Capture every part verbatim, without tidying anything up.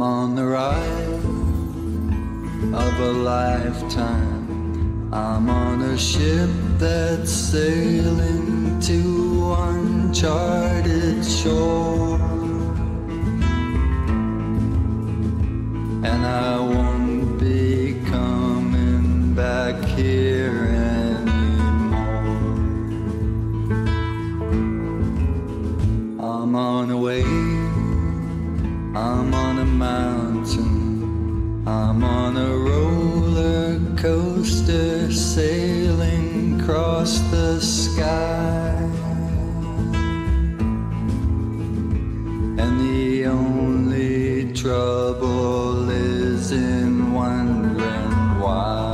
on the ride of a lifetime. I'm on a ship that's sailing to uncharted shore, and I won't be coming back here anymore. I'm on a wave, I'm on a mountain, I'm on a roller coaster sailing across the sky, and the only trouble is in wondering why.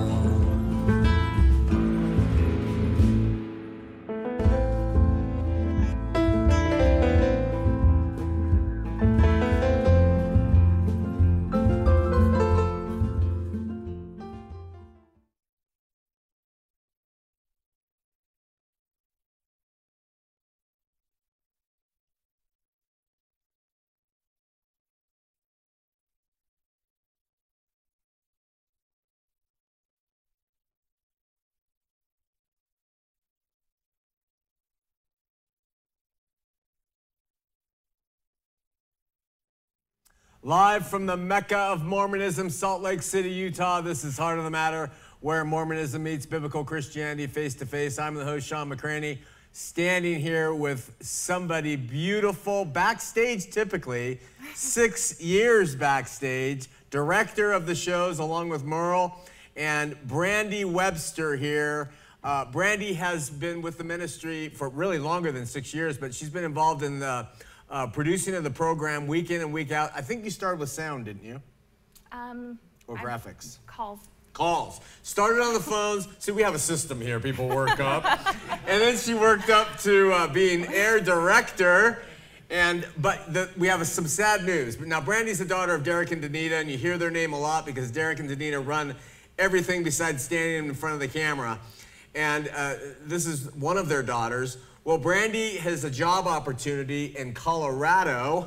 Live from the Mecca of Mormonism, Salt Lake City, Utah, this is Heart of the Matter, where Mormonism meets biblical Christianity face to face. I'm the host, Sean McCraney, standing here with somebody beautiful, backstage typically, six years backstage, director of the shows along with Merle, and Brandy Webster here. Uh, Brandy has been with the ministry for really longer than six years, but she's been involved in the Uh, producing of the program week in and week out. I think you started with sound, didn't you? Um, or I, graphics? Calls. Calls. Started on the phones. See, we have a system here. People work up. And then she worked up to uh, being air director. And But the, we have a, some sad news. Now, Brandy's the daughter of Derek and Danita, and you hear their name a lot because Derek and Danita run everything besides standing in front of the camera. And uh, this is one of their daughters. Well, Brandy has a job opportunity in Colorado.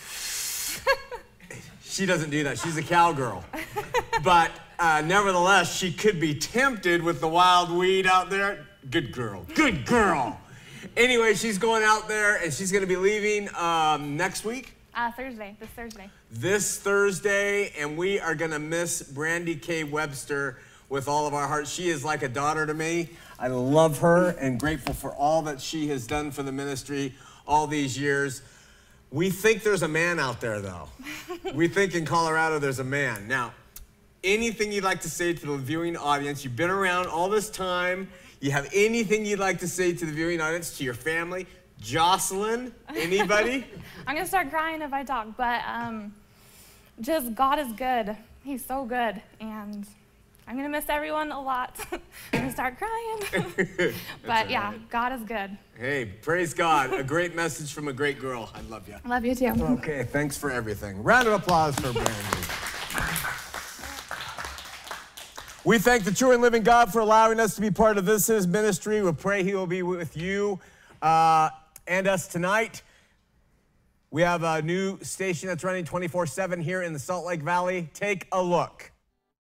She doesn't do that. She's a cowgirl. But uh, nevertheless, she could be tempted with the wild weed out there. Good girl. Good girl. Anyway, she's going out there, and she's going to be leaving um, next week. Uh, Thursday, this Thursday. This Thursday, and we are going to miss Brandy K. Webster with all of our hearts. She is like a daughter to me. I love her and grateful for all that she has done for the ministry all these years. We think there's a man out there, though. We think in Colorado there's a man. Now, anything you'd like to say to the viewing audience? You've been around all this time. You have anything you'd like to say to the viewing audience, to your family? Jocelyn, anybody? I'm going to start crying if I talk, but um, just God is good. He's so good, and I'm going to miss everyone a lot. I'm going to start crying. But yeah, right. God is good. Hey, praise God. A great message from a great girl. I love you. I love you too. Okay, thanks for everything. Round of applause for Brandy. We thank the true and living God for allowing us to be part of this, his ministry. We pray he will be with you uh, and us tonight. We have a new station that's running twenty-four seven here in the Salt Lake Valley. Take a look.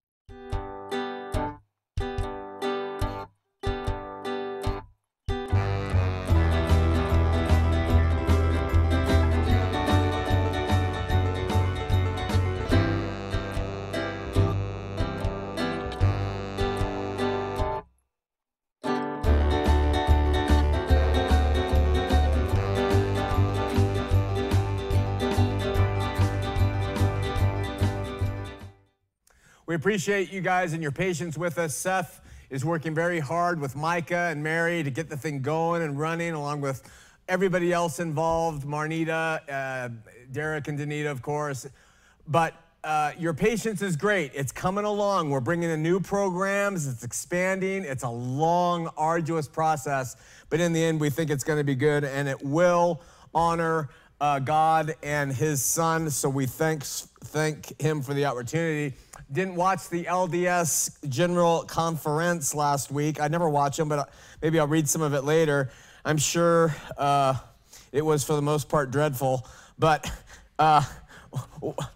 We appreciate you guys and your patience with us. Seth is working very hard with Micah and Mary to get the thing going and running, along with everybody else involved, Marnita, uh, Derek and Danita, of course. But uh, your patience is great. It's coming along. We're bringing in new programs. It's expanding. It's a long, arduous process. But in the end, we think it's going to be good, and it will honor uh, God and his son. So we thanks, thank him for the opportunity. Didn't watch the L D S General Conference last week. I never watch them, but maybe I'll read some of it later. I'm sure uh, it was, for the most part, dreadful. But uh,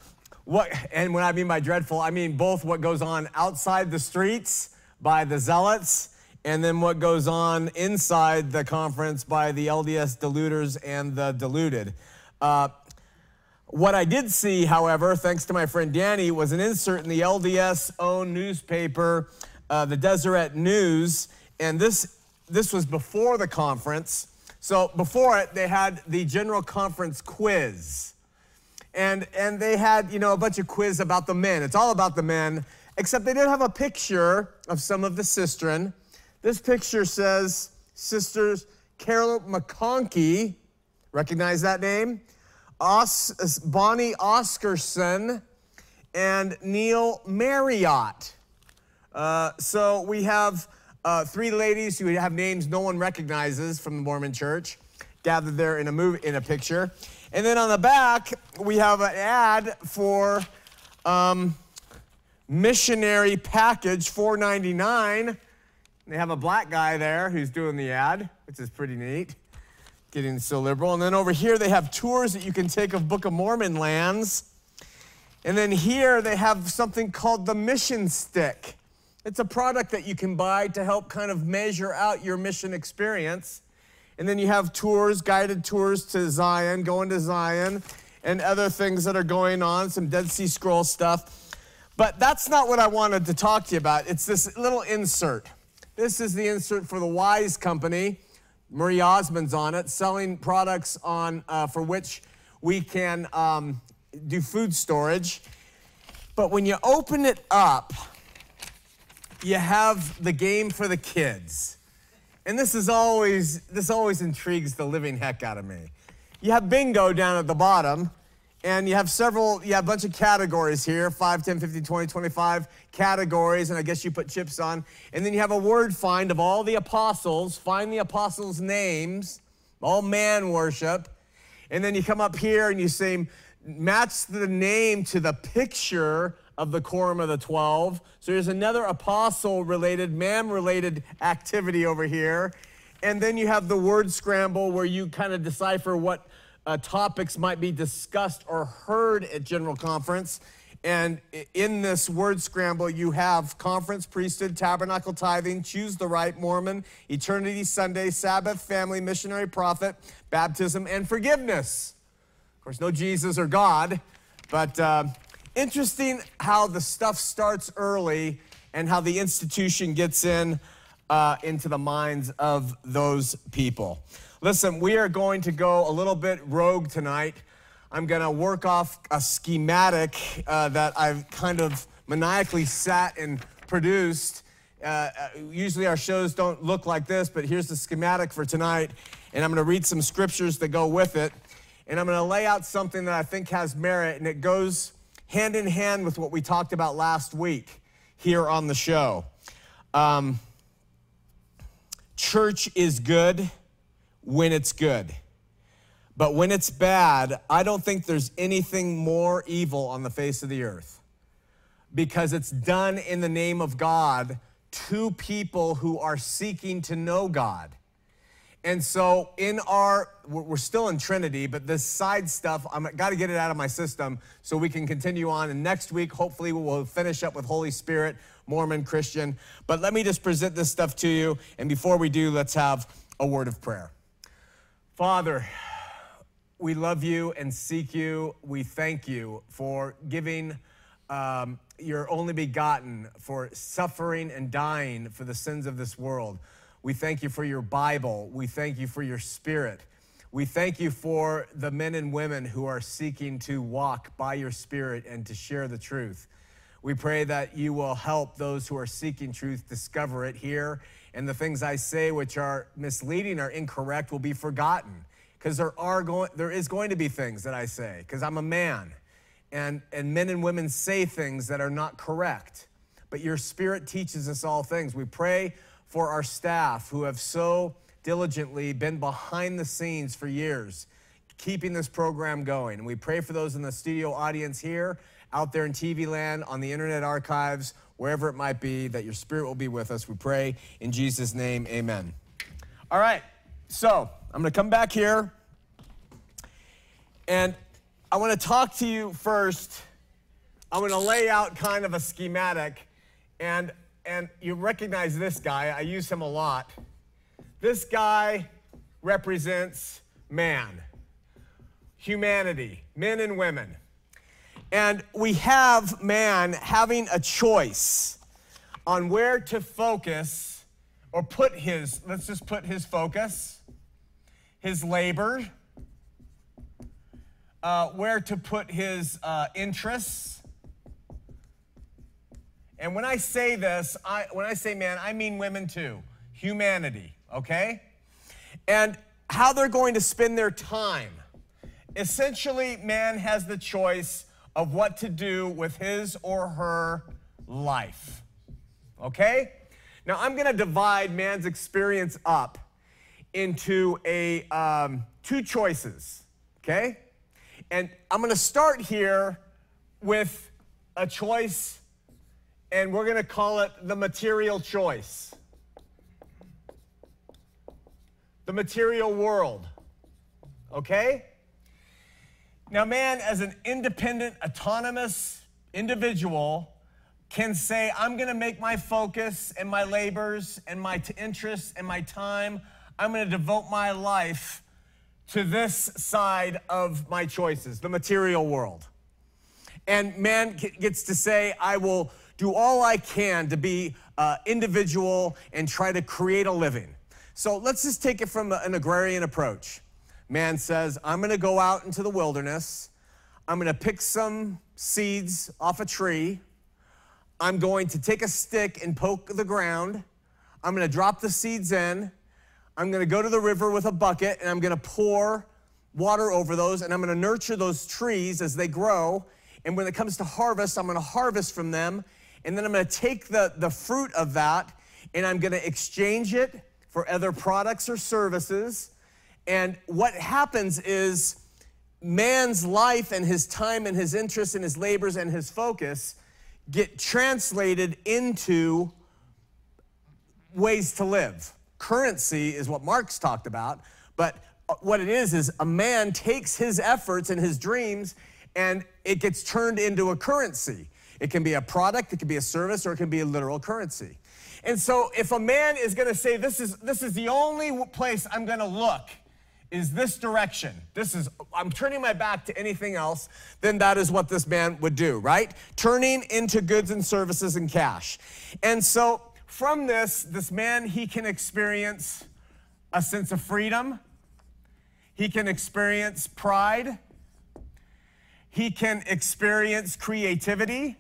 what, and what I mean by dreadful, I mean both what goes on outside the streets by the zealots and then what goes on inside the conference by the L D S deluders and the deluded. Uh, what I did see, however, thanks to my friend Danny, was an insert in the L D S-owned newspaper, uh, the Deseret News, and this, this was before the conference. So before it, they had the General Conference quiz. And, and they had, you know, a bunch of quiz about the men. It's all about the men, except they did have a picture of some of the sistren. This picture says Sisters Carol McConkie, recognize that name? Os, Bonnie Oscarson and Neil Marriott. Uh, so we have uh, three ladies who have names no one recognizes from the Mormon Church gathered there in a movie, in a picture. And then on the back, we have an ad for um, missionary package four ninety-nine. They have a black guy there who's doing the ad, which is pretty neat, getting so liberal. And then over here, they have tours that you can take of Book of Mormon lands. And then here, they have something called the Mission Stick. It's a product that you can buy to help kind of measure out your mission experience. And then you have tours, guided tours to Zion, going to Zion, and other things that are going on, some Dead Sea Scroll stuff. But that's not what I wanted to talk to you about. It's this little insert. This is the insert for the Wise Company. Marie Osmond's on it, selling products on uh, for which we can um, do food storage. But when you open it up, you have the game for the kids. And this is always, this always intrigues the living heck out of me. You have bingo down at the bottom, and you have several, you have a bunch of categories here, five, ten, fifteen, twenty, twenty-five categories, and I guess you put chips on. And then you have a word find of all the apostles, find the apostles' names, all man worship. And then you come up here and you say, match the name to the picture of the Quorum of the Twelve. So there's another apostle-related, man-related activity over here. And then you have the word scramble where you kind of decipher what uh, topics might be discussed or heard at General Conference. And in this word scramble, you have conference, priesthood, tabernacle, tithing, choose the right, Mormon, eternity, Sunday, Sabbath, family, missionary, prophet, baptism, and forgiveness. Of course, no Jesus or God, but uh, interesting how the stuff starts early and how the institution gets in uh, into the minds of those people. Listen, we are going to go a little bit rogue tonight. I'm going to work off a schematic uh, that I've kind of maniacally sat and produced. Uh, usually our shows don't look like this, but here's the schematic for tonight. And I'm going to read some scriptures that go with it. And I'm going to lay out something that I think has merit, and it goes hand in hand with what we talked about last week here on the show. Um, church is good when it's good. But when it's bad, I don't think there's anything more evil on the face of the earth, because it's done in the name of God to people who are seeking to know God. And so in our, we're still in Trinity, but this side stuff, I've got to get it out of my system so we can continue on. And next week, hopefully, we'll finish up with Holy Spirit, Mormon, Christian. But let me just present this stuff to you. And before we do, let's have a word of prayer. Father, we love you and seek you. We thank you for giving um, your only begotten, for suffering and dying for the sins of this world. We thank you for your Bible. We thank you for your Spirit. We thank you for the men and women who are seeking to walk by your Spirit and to share the truth. We pray that you will help those who are seeking truth discover it here, and the things I say which are misleading or incorrect will be forgotten, because there are going, there is going to be things that I say, because I'm a man, and, and men and women say things that are not correct, but your Spirit teaches us all things. We pray for our staff who have so diligently been behind the scenes for years, keeping this program going. And we pray for those in the studio audience here, out there in T V land, on the internet archives, wherever it might be, that your Spirit will be with us. We pray in Jesus' name, amen. All right, so I'm gonna come back here, and I wanna talk to you first I'm going to lay out kind of a schematic, and, and you recognize this guy. I use him a lot. This guy represents man, humanity, men and women. And we have man having a choice on where to focus or put his, let's just put his focus, his labor, uh, where to put his uh, interests. And when I say this, I, when I say man, I mean women too, humanity, okay? And how they're going to spend their time. Essentially, man has the choice of what to do with his or her life, okay? Now, I'm going to divide man's experience up into a um, two choices, okay? And I'm going to start here with a choice, and we're going to call it the material choice. The material world, okay? Now, man, as an independent, autonomous individual, can say, I'm going to make my focus and my labors and my t- interests and my time, I'm going to devote my life to this side of my choices, the material world. And man gets to say, I will do all I can to be uh, individual and try to create a living. So let's just take it from an agrarian approach. Man says, I'm going to go out into the wilderness. I'm going to pick some seeds off a tree. I'm going to take a stick and poke the ground. I'm going to drop the seeds in. I'm going to go to the river with a bucket, and I'm going to pour water over those, and I'm going to nurture those trees as they grow. And when it comes to harvest, I'm going to harvest from them, and then I'm going to take the, the fruit of that, and I'm going to exchange it for other products or services. And what happens is man's life and his time and his interests and his labors and his focus get translated into ways to live. Currency is what Marx talked about, but what it is is a man takes his efforts and his dreams and it gets turned into a currency. It can be a product, it can be a service, or it can be a literal currency. And so if a man is going to say, this is, this is the only place I'm going to look, is this direction. This is, I'm turning my back to anything else, then that is what this man would do, right? Turning into goods and services and cash. And so from this, this man, he can experience a sense of freedom. He can experience pride. He can experience creativity.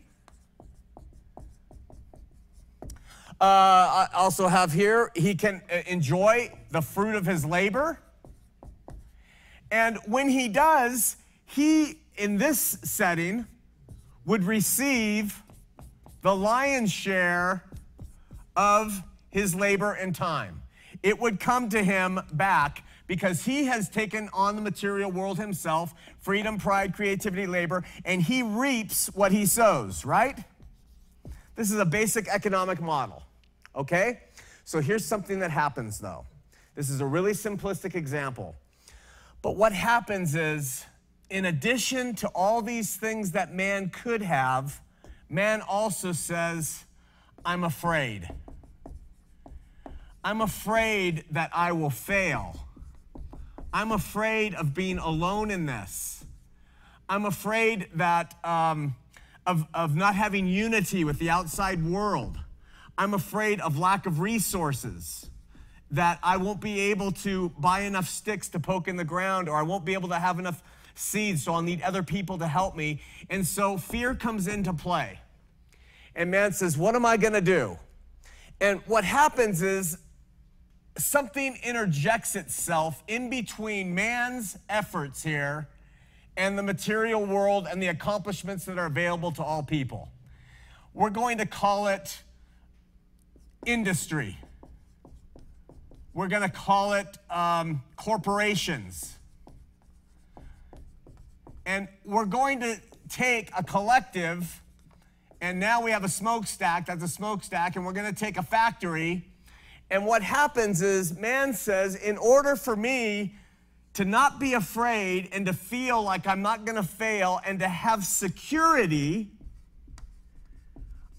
Uh, I also have here, he can enjoy the fruit of his labor. And when he does, he, in this setting, would receive the lion's share of his labor and time. It would come to him back because he has taken on the material world himself, freedom, pride, creativity, labor, and he reaps what he sows, right? This is a basic economic model, okay? So here's something that happens, though. This is a really simplistic example. But what happens is, in addition to all these things that man could have, man also says, I'm afraid. I'm afraid that I will fail. I'm afraid of being alone in this. I'm afraid that um, of, of not having unity with the outside world. I'm afraid of lack of resources, that I won't be able to buy enough sticks to poke in the ground, or I won't be able to have enough seeds, so I'll need other people to help me. And so fear comes into play. And man says, what am I going to do? And what happens is something interjects itself in between man's efforts here and the material world and the accomplishments that are available to all people. We're going to call it industry. We're going to call it um, corporations. And we're going to take a collective, and now we have a smokestack, that's a smokestack, and we're going to take a factory. And what happens is man says, in order for me to not be afraid and to feel like I'm not going to fail and to have security,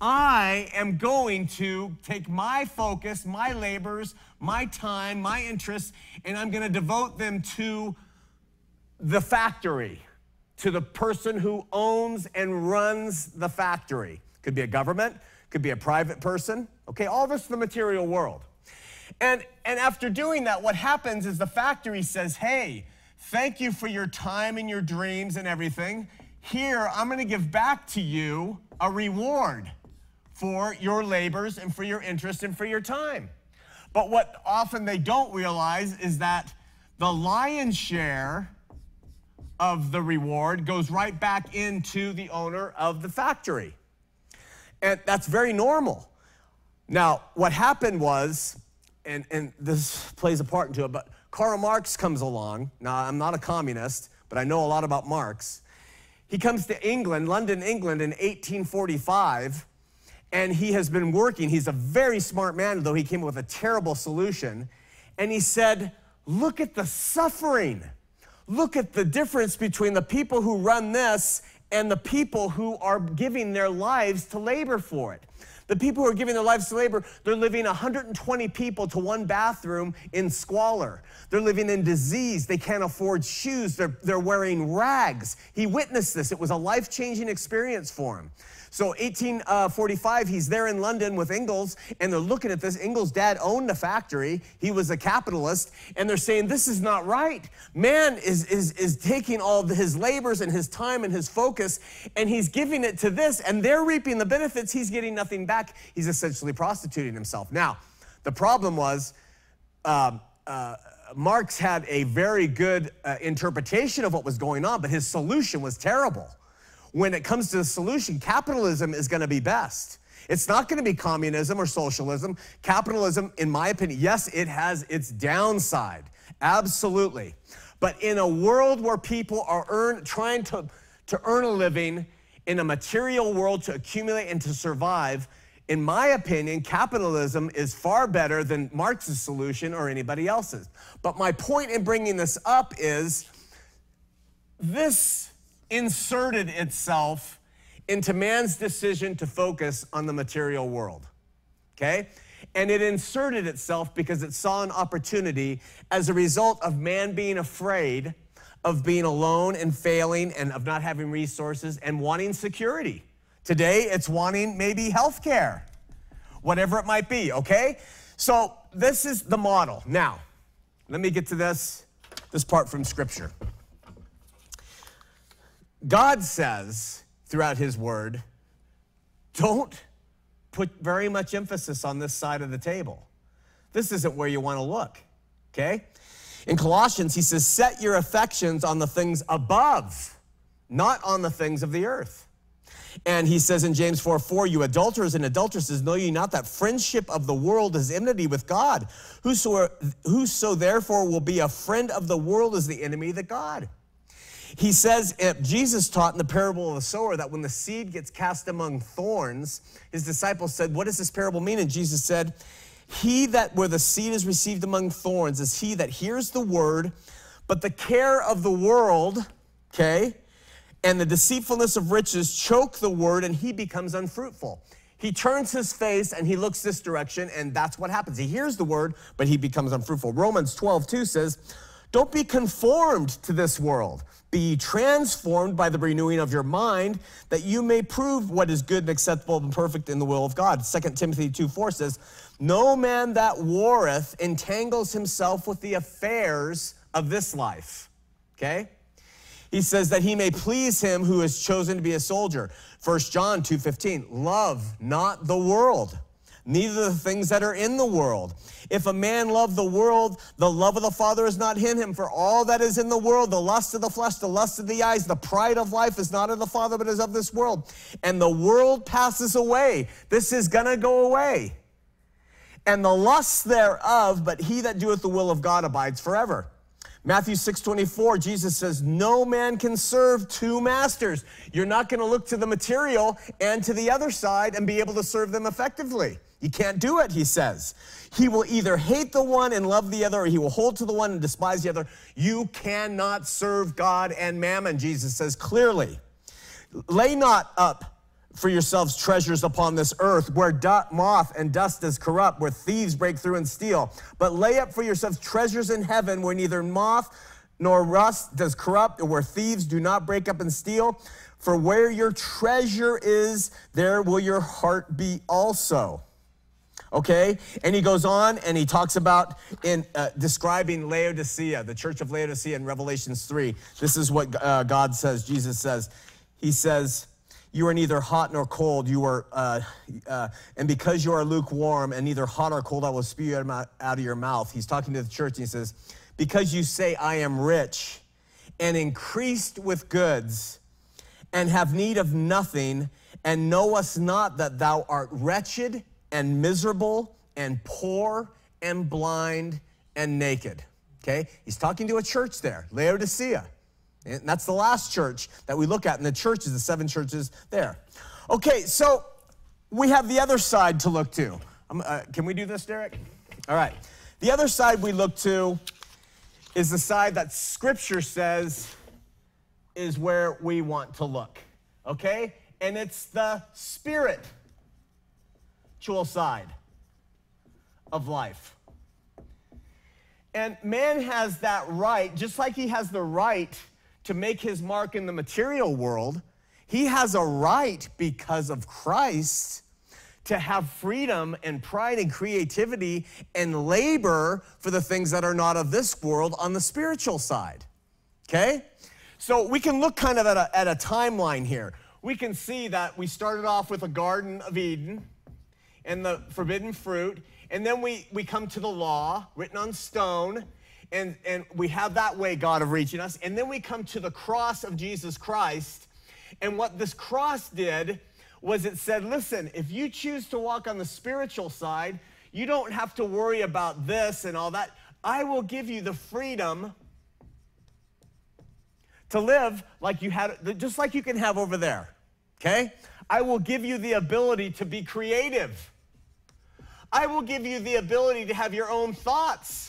I am going to take my focus, my labors, my time, my interests, and I'm going to devote them to the factory, to the person who owns and runs the factory. Could be a government, could be a private person, okay? All this is the material world. And, and after doing that, what happens is the factory says, hey, thank you for your time and your dreams and everything. Here, I'm going to give back to you a reward for your labors and for your interest and for your time. But what often they don't realize is that the lion's share of the reward goes right back into the owner of the factory. And that's very normal. Now, what happened was, and, and this plays a part into it, but Karl Marx comes along. Now, I'm not a communist, but I know a lot about Marx. He comes to England, London, England in eighteen forty-five, and he has been working. He's a very smart man, though he came up with a terrible solution. And he said, look at the suffering. Look at the difference between the people who run this and the people who are giving their lives to labor for it. The people who are giving their lives to labor, they're living one hundred twenty people to one bathroom in squalor. They're living in disease. They can't afford shoes. They're, they're wearing rags. He witnessed this. It was a life-changing experience for him. So eighteen forty-five, he's there in London with Ingalls, and they're looking at this. Ingalls' dad owned a factory. He was a capitalist, and they're saying, this is not right. Man is, is, is taking all of his labors and his time and his focus, and he's giving it to this, and they're reaping the benefits. He's getting nothing back. He's essentially prostituting himself. Now, the problem was uh, uh, Marx had a very good uh, interpretation of what was going on, but his solution was terrible. When it comes to the solution, capitalism is going to be best. It's not going to be communism or socialism. Capitalism, in my opinion, yes, it has its downside, absolutely. But in a world where people are earn, trying to, to earn a living in a material world to accumulate and to survive, in my opinion, capitalism is far better than Marx's solution or anybody else's. But my point in bringing this up is this inserted itself into man's decision to focus on the material world, okay? And it inserted itself because it saw an opportunity as a result of man being afraid of being alone and failing and of not having resources and wanting security. Today, it's wanting maybe health care, whatever it might be, okay? So this is the model. Now, let me get to this, this part from Scripture. God says throughout his word, don't put very much emphasis on this side of the table. This isn't where you want to look, okay? In Colossians, he says, set your affections on the things above, not on the things of the earth. And he says in James four four, you adulterers and adulteresses, know ye not that friendship of the world is enmity with God? Whoso, whoso therefore will be a friend of the world is the enemy of God. He says, uh, Jesus taught in the parable of the sower that when the seed gets cast among thorns, his disciples said, what does this parable mean? And Jesus said, he that where the seed is received among thorns is he that hears the word, but the care of the world, okay, and the deceitfulness of riches choke the word, and he becomes unfruitful. He turns his face and he looks this direction, and that's what happens. He hears the word, but he becomes unfruitful. Romans twelve two says, don't be conformed to this world. Be ye transformed by the renewing of your mind, that you may prove what is good and acceptable and perfect in the will of God. Second Timothy two four says, no man that warreth entangles himself with the affairs of this life. Okay? He says that he may please him who is chosen to be a soldier. First John two fifteen, love not the world, neither the things that are in the world. If a man love the world, the love of the Father is not in him. For all that is in the world, the lust of the flesh, the lust of the eyes, the pride of life is not of the Father, but is of this world. And the world passes away. This is going to go away. And the lusts thereof, but he that doeth the will of God abides forever. Matthew six twenty-four, Jesus says, no man can serve two masters. You're not going to look to the material and to the other side and be able to serve them effectively. You can't do it, he says. He will either hate the one and love the other, or he will hold to the one and despise the other. You cannot serve God and mammon, Jesus says clearly. Lay not up for yourselves treasures upon this earth, where du- moth and dust does corrupt, where thieves break through and steal. But lay up for yourselves treasures in heaven, where neither moth nor rust does corrupt, or where thieves do not break up and steal. For where your treasure is, there will your heart be also. Okay? And he goes on and he talks about in uh, describing Laodicea, the church of Laodicea in Revelations three. This is what uh, God says, Jesus says. He says, you are neither hot nor cold. You are, uh, uh, and because you are lukewarm and neither hot or cold, I will spew you out of your mouth. He's talking to the church and he says, because you say, I am rich and increased with goods and have need of nothing, and knowest not that thou art wretched and miserable and poor and blind and naked. Okay? He's talking to a church there, Laodicea. And that's the last church that we look at, and the churches, the seven churches there. Okay, so we have the other side to look to. Um, uh, can we do this, Derek? All right. The other side we look to is the side that Scripture says is where we want to look, okay? And it's the spiritual side of life. And man has that right, just like he has the right to make his mark in the material world, he has a right because of Christ to have freedom and pride and creativity and labor for the things that are not of this world on the spiritual side, okay? So we can look kind of at a, at a timeline here. We can see that we started off with a Garden of Eden and the forbidden fruit, and then we, we come to the law written on stone, and, and we have that way, God, of reaching us, and then we come to the cross of Jesus Christ, and what this cross did was it said, listen, if you choose to walk on the spiritual side, you don't have to worry about this and all that. I will give you the freedom to live like you had, just like you can have over there, okay? I will give you the ability to be creative. I will give you the ability to have your own thoughts.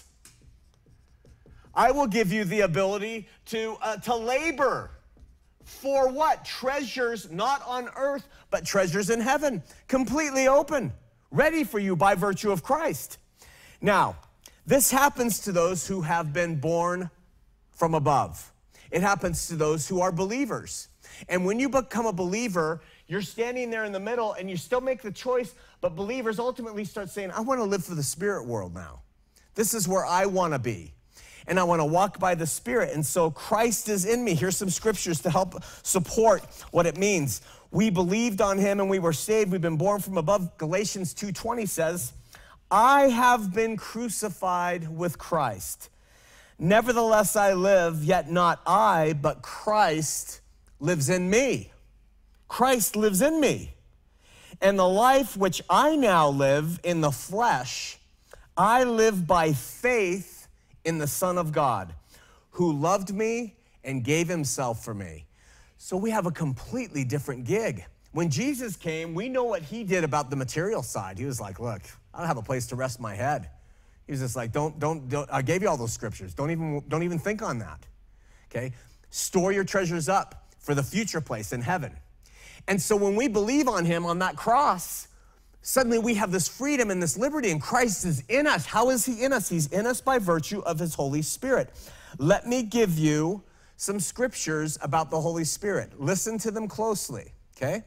I will give you the ability to, uh, to labor. For what? Treasures not on earth, but treasures in heaven, completely open, ready for you by virtue of Christ. Now, this happens to those who have been born from above. It happens to those who are believers. And when you become a believer, you're standing there in the middle and you still make the choice, but believers ultimately start saying, I want to live for the spirit world now. This is where I want to be. And I want to walk by the Spirit. And so Christ is in me. Here's some scriptures to help support what it means. We believed on him and we were saved. We've been born from above. Galatians two twenty says, I have been crucified with Christ. Nevertheless I live, yet not I, but Christ lives in me. Christ lives in me. And the life which I now live in the flesh, I live by faith in the Son of God, who loved me and gave himself for me. So we have a completely different gig. When Jesus came, we know what he did about the material side. He was like, look, I don't have a place to rest my head. He was just like, don't, don't, don't I gave you all those scriptures. Don't even, don't even think on that, okay? Store your treasures up for the future place in heaven. And so when we believe on him on that cross, suddenly we have this freedom and this liberty, and Christ is in us. How is he in us? He's in us by virtue of his Holy Spirit. Let me give you some scriptures about the Holy Spirit. Listen to them closely, okay?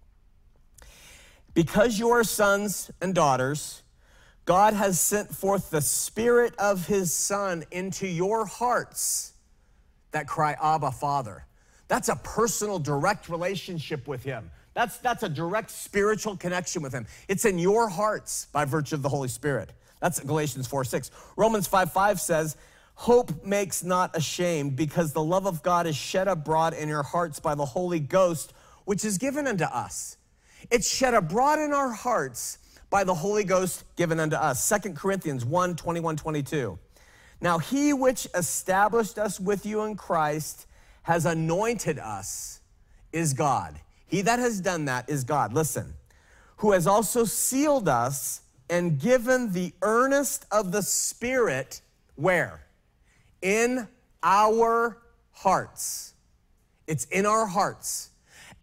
Because you are sons and daughters, God has sent forth the Spirit of his Son into your hearts that cry, Abba, Father. That's a personal, direct relationship with him. That's, that's a direct spiritual connection with him. It's in your hearts by virtue of the Holy Spirit. That's Galatians four six. Romans five five says, hope makes not ashamed, because the love of God is shed abroad in your hearts by the Holy Ghost, which is given unto us. It's shed abroad in our hearts by the Holy Ghost given unto us. Second Corinthians one twenty-one twenty-two. Now he which established us with you in Christ has anointed us is God. He that has done that is God. Listen, who has also sealed us and given the earnest of the Spirit, where? In our hearts. It's in our hearts.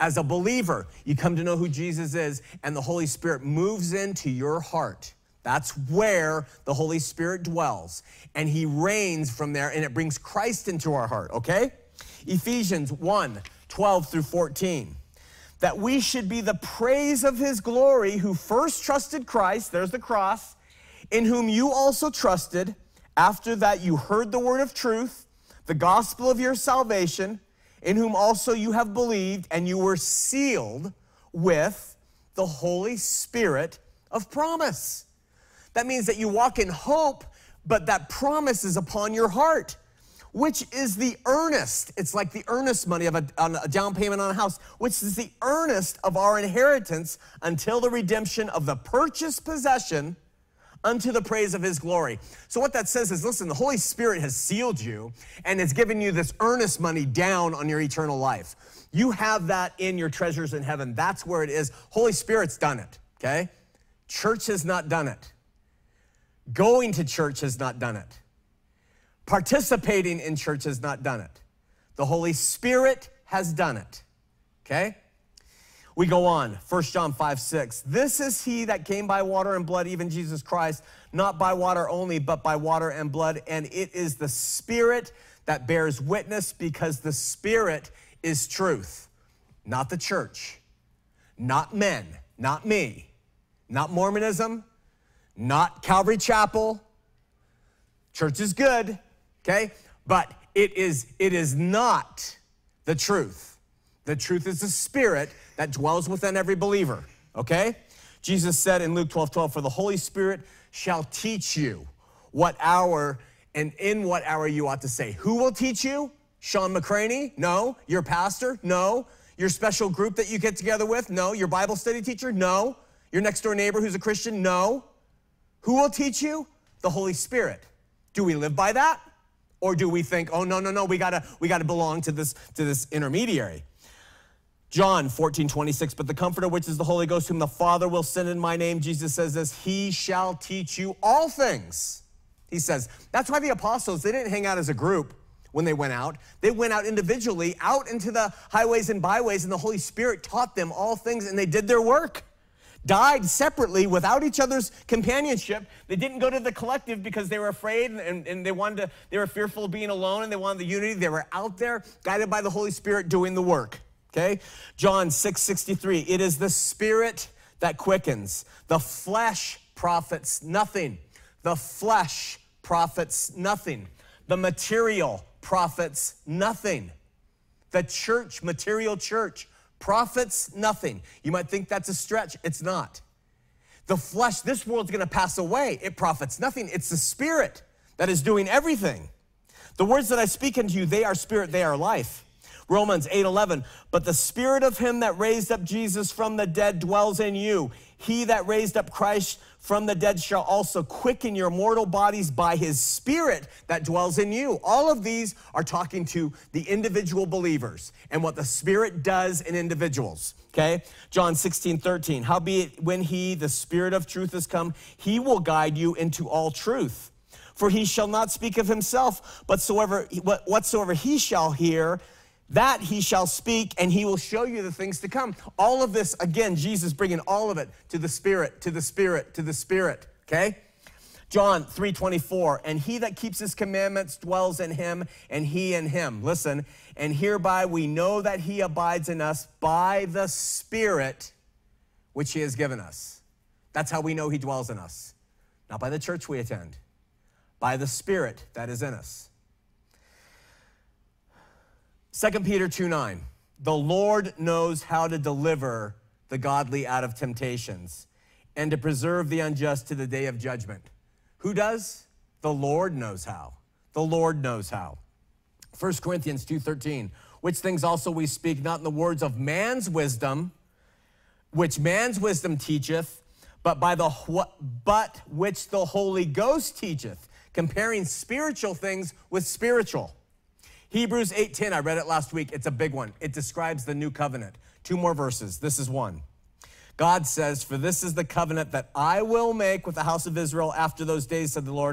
As a believer, you come to know who Jesus is, and the Holy Spirit moves into your heart. That's where the Holy Spirit dwells, and he reigns from there, and it brings Christ into our heart, okay? Ephesians one, twelve through fourteen. That we should be the praise of his glory, who first trusted Christ, there's the cross, in whom you also trusted. After that you heard the word of truth, the gospel of your salvation, in whom also you have believed, and you were sealed with the Holy Spirit of promise. That means that you walk in hope, but that promise is upon your heart, which is the earnest. It's like the earnest money of a, on a down payment on a house, which is the earnest of our inheritance until the redemption of the purchased possession unto the praise of his glory. So what that says is, listen, the Holy Spirit has sealed you and has given you this earnest money down on your eternal life. You have that in your treasures in heaven. That's where it is. Holy Spirit's done it, okay? Church has not done it. Going to church has not done it. Participating in church has not done it. The Holy Spirit has done it, okay? We go on, First John five, six. This is he that came by water and blood, even Jesus Christ, not by water only, but by water and blood. And it is the Spirit that bears witness, because the Spirit is truth. Not the church, not men, not me, not Mormonism, not Calvary Chapel. Church is good, okay? But it is, it is not the truth. The truth is the Spirit that dwells within every believer, okay? Jesus said in Luke twelve, twelve, for the Holy Spirit shall teach you what hour and in what hour you ought to say. Who will teach you? Sean McCraney? No. Your pastor? No. Your special group that you get together with? No. Your Bible study teacher? No. Your next door neighbor who's a Christian? No. Who will teach you? The Holy Spirit. Do we live by that? Or do we think, oh, no, no, no, we gotta, we gotta belong to this, to this intermediary? John fourteen, twenty-six, but the Comforter, which is the Holy Ghost, whom the Father will send in my name, Jesus says this, he shall teach you all things. He says, that's why the apostles, they didn't hang out as a group when they went out. They went out individually, out into the highways and byways, and the Holy Spirit taught them all things, and they did their work. Died separately without each other's companionship. They didn't go to the collective because they were afraid and, and they wanted to, they were fearful of being alone and they wanted the unity. They were out there guided by the Holy Spirit doing the work, okay? John six, sixty-three, it is the Spirit that quickens. The flesh profits nothing. The flesh profits nothing. The material profits nothing. The church, material church, profits nothing. You might think that's a stretch. It's not. The flesh, this world's going to pass away. It profits nothing. It's the Spirit that is doing everything. The words that I speak unto you, they are spirit, they are life. Romans eight, eleven, but the Spirit of him that raised up Jesus from the dead dwells in you. He that raised up Christ from the dead shall also quicken your mortal bodies by his Spirit that dwells in you. All of these are talking to the individual believers and what the Spirit does in individuals, okay? John sixteen, thirteen, howbeit when he, the Spirit of truth, is come, he will guide you into all truth. For he shall not speak of himself, but soever, whatsoever he shall hear, that he shall speak, and he will show you the things to come. All of this, again, Jesus bringing all of it to the Spirit, to the Spirit, to the Spirit, okay? John three, twenty-four, and he that keeps his commandments dwells in him, and he in him. Listen, and hereby we know that he abides in us by the Spirit which he has given us. That's how we know he dwells in us. Not by the church we attend, by the Spirit that is in us. Second Peter two, nine, the Lord knows how to deliver the godly out of temptations and to preserve the unjust to the day of judgment. Who does? The Lord knows how. The Lord knows how. First Corinthians two, thirteen, which things also we speak, not in the words of man's wisdom, which man's wisdom teacheth, but by the but which the Holy Ghost teacheth, comparing spiritual things with spiritual. Hebrews eight, ten, I read it last week. It's a big one. It describes the new covenant. Two more verses. This is one. God says, for this is the covenant that I will make with the house of Israel after those days, said the Lord.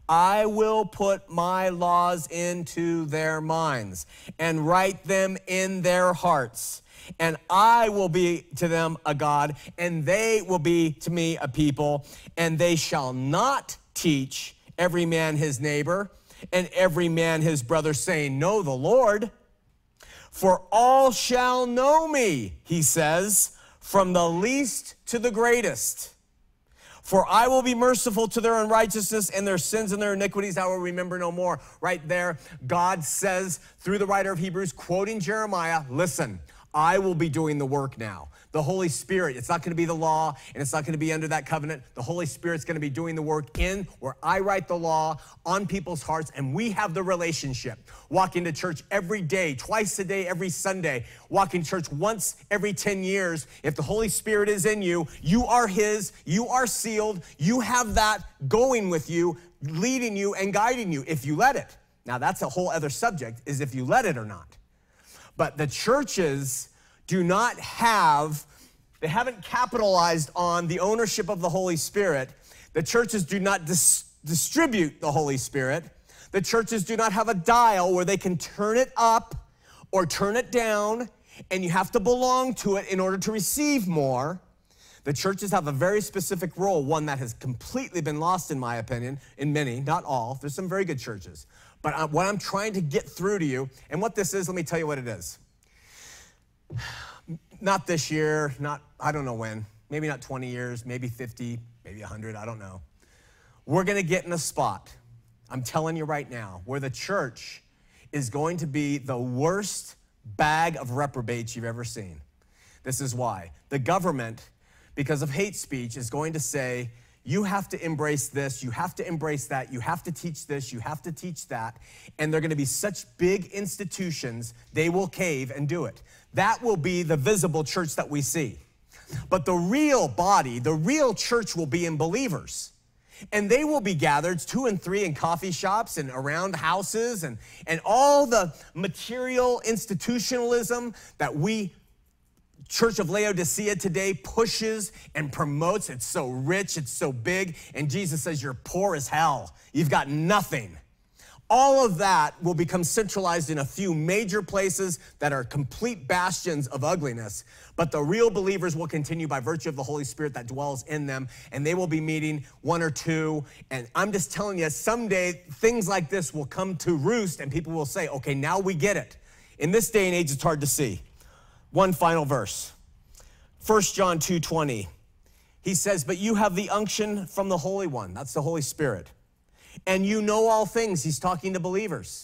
I will put my laws into their minds and write them in their hearts. And I will be to them a God, and they will be to me a people. And they shall not teach every man his neighbor and every man his brother, saying, know the Lord. For all shall know me, he says, from the least to the greatest. For I will be merciful to their unrighteousness, and their sins and their iniquities I will remember no more. Right there, God says through the writer of Hebrews, quoting Jeremiah, listen, I will be doing the work now. The Holy Spirit, it's not going to be the law, and it's not going to be under that covenant. The Holy Spirit's going to be doing the work in where I write the law on people's hearts, and we have the relationship. Walking to church every day, twice a day, every Sunday. Walking church once every ten years. If the Holy Spirit is in you, you are his, you are sealed, you have that going with you, leading you and guiding you if you let it. Now, that's a whole other subject, is if you let it or not. But the churches do not have, they haven't capitalized on the ownership of the Holy Spirit. The churches do not dis- distribute the Holy Spirit. The churches do not have a dial where they can turn it up or turn it down, and you have to belong to it in order to receive more. The churches have a very specific role, one that has completely been lost, in my opinion, in many, not all. There's some very good churches. But what I'm trying to get through to you, and what this is, let me tell you what it is. Not this year, not, I don't know when, maybe not twenty years, maybe fifty, maybe one hundred, I don't know. We're gonna get in a spot, I'm telling you right now, where the church is going to be the worst bag of reprobates you've ever seen. This is why. The government, because of hate speech, is going to say, you have to embrace this, you have to embrace that, you have to teach this, you have to teach that, and they're gonna be such big institutions, they will cave and do it. That will be the visible church that we see. But the real body, the real church will be in believers. And they will be gathered two and three in coffee shops and around houses and, and all the material institutionalism that we Church of Laodicea today pushes and promotes. It's so rich, it's so big, and Jesus says you're poor as hell. You've got nothing. All of that will become centralized in a few major places that are complete bastions of ugliness, but the real believers will continue by virtue of the Holy Spirit that dwells in them, and they will be meeting one or two, and I'm just telling you, someday things like this will come to roost, and people will say, okay, now we get it. In this day and age, it's hard to see. One final verse, First John two twenty. He says, but you have the unction from the Holy One. That's the Holy Spirit. And you know all things. He's talking to believers.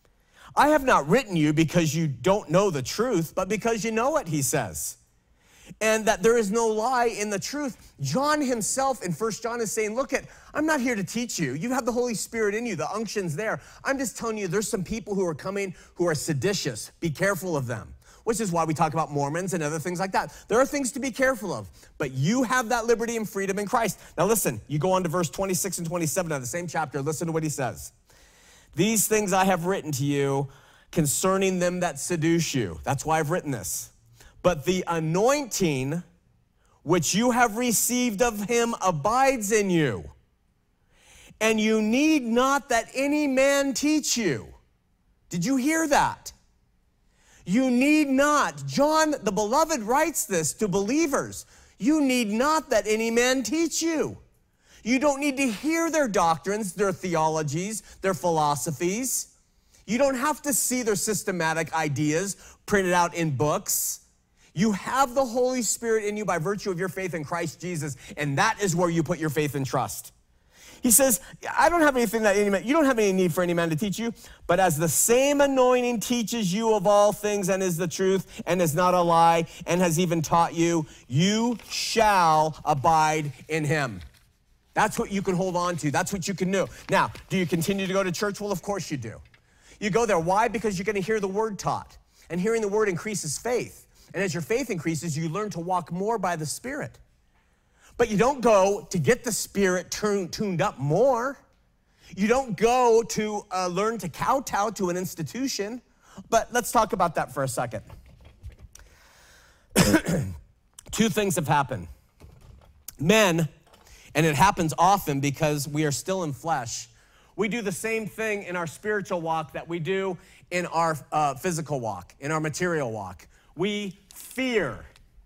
I have not written you because you don't know the truth, but because you know it, he says. And that there is no lie in the truth. John himself in First John is saying, look, at, I'm not here to teach you. You have the Holy Spirit in you. The unction's there. I'm just telling you there's some people who are coming who are seditious. Be careful of them. Which is why we talk about Mormons and other things like that. There are things to be careful of, but you have that liberty and freedom in Christ. Now listen, you go on to verse twenty-six and twenty-seven of the same chapter. Listen to what he says. These things I have written to you concerning them that seduce you. That's why I've written this. But the anointing which you have received of him abides in you. And you need not that any man teach you. Did you hear that? You need not. John, the beloved, writes this to believers. You need not that any man teach you. You don't need to hear their doctrines, their theologies, their philosophies. You don't have to see their systematic ideas printed out in books. You have the Holy Spirit in you by virtue of your faith in Christ Jesus, and that is where you put your faith and trust. He says, I don't have anything that any man, you don't have any need for any man to teach you, but as the same anointing teaches you of all things and is the truth and is not a lie and has even taught you, you shall abide in him. That's what you can hold on to. That's what you can do. Now, do you continue to go to church? Well, of course you do. You go there. Why? Because you're going to hear the word taught. And hearing the word increases faith. And as your faith increases, you learn to walk more by the Spirit. But you don't go to get the Spirit tuned, tuned up more. You don't go to uh, learn to kowtow to an institution. But let's talk about that for a second. Two things have happened. Men, and it happens often because we are still in flesh, We do the same thing in our spiritual walk that we do in our uh, physical walk, in our material walk. We fear.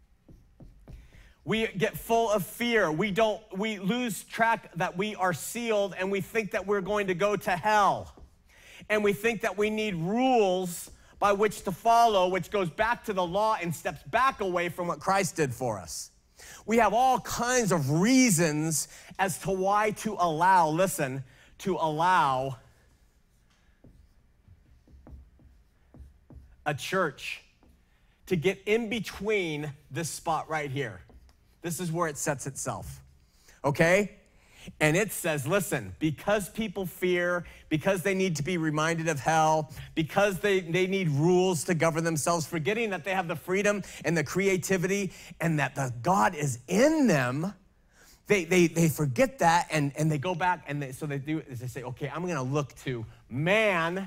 We get full of fear. We don't, we lose track that we are sealed, and we think that we're going to go to hell. And we think that we need rules by which to follow, which goes back to the law and steps back away from what Christ did for us. We have all kinds of reasons as to why to allow, listen, to allow a church to get in between this spot right here. This is where it sets itself, okay? And it says, listen, because people fear, because they need to be reminded of hell, because they, they need rules to govern themselves, forgetting that they have the freedom and the creativity and that the God is in them, they, they, they forget that and, and they go back and they, so they do is they say, okay, I'm gonna look to man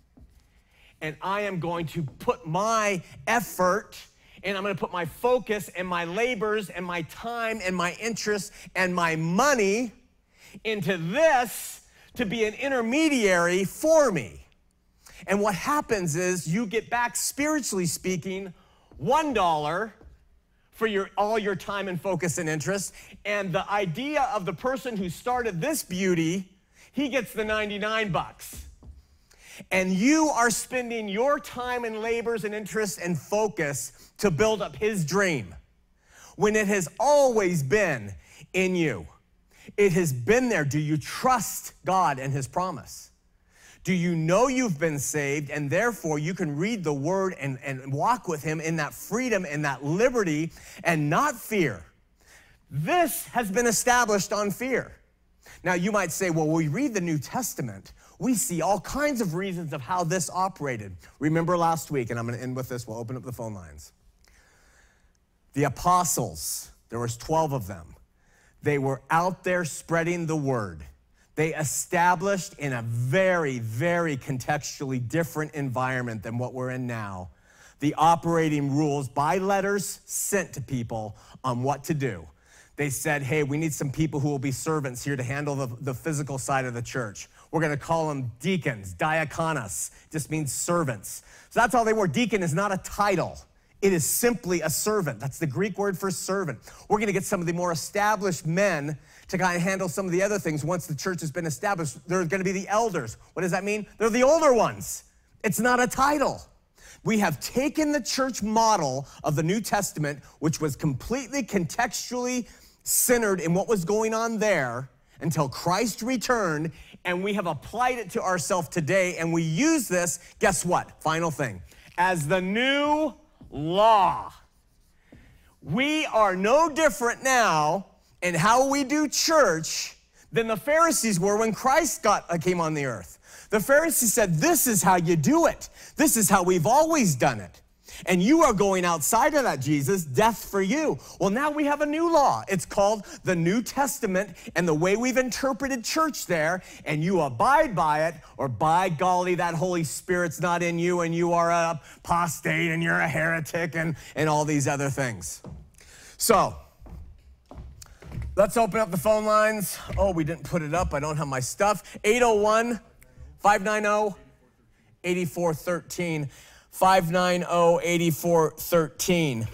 and I am going to put my effort and I'm gonna put my focus and my labors and my time and my interest and my money into this to be an intermediary for me. And what happens is you get back, spiritually speaking, one dollar for your, all your time and focus and interest. And the idea of the person who started this beauty, he gets the ninety-nine bucks. And you are spending your time and labors and interest and focus to build up his dream when it has always been in you. It has been there. Do you trust God and his promise? Do you know you've been saved and therefore you can read the word and, and walk with him in that freedom and that liberty and not fear? This has been established on fear. Now you might say, well, when we read the New Testament, we see all kinds of reasons of how this operated. Remember last week, and I'm gonna end with this, we'll open up the phone lines. The apostles, there was twelve of them. They were out there spreading the word. They established in a very, very contextually different environment than what we're in now, the operating rules by letters sent to people on what to do. They said, hey, we need some people who will be servants here to handle the, the physical side of the church. We're gonna call them deacons, diakonos, just means servants. So that's all they were. Deacon is not a title. It is simply a servant. That's the Greek word for servant. We're gonna get some of the more established men to kind of handle some of the other things once the church has been established. They're gonna be the elders. What does that mean? They're the older ones. It's not a title. We have taken the church model of the New Testament, which was completely contextually centered in what was going on there until Christ returned, and we have applied it to ourselves today, and we use this, guess what? Final thing, as the new law. We are no different now in how we do church than the Pharisees were when Christ got, uh, came on the earth. The Pharisees said, this is how you do it. This is how we've always done it. And you are going outside of that, Jesus, death for you. Well, now we have a new law. It's called the New Testament and the way we've interpreted church there, and you abide by it, or by golly, that Holy Spirit's not in you and you are a apostate and you're a heretic and, and all these other things. So, let's open up the phone lines. Oh, we didn't put it up. I don't have my stuff. eight oh one, five nine oh, eight four one three. five nine zero, eight four one three.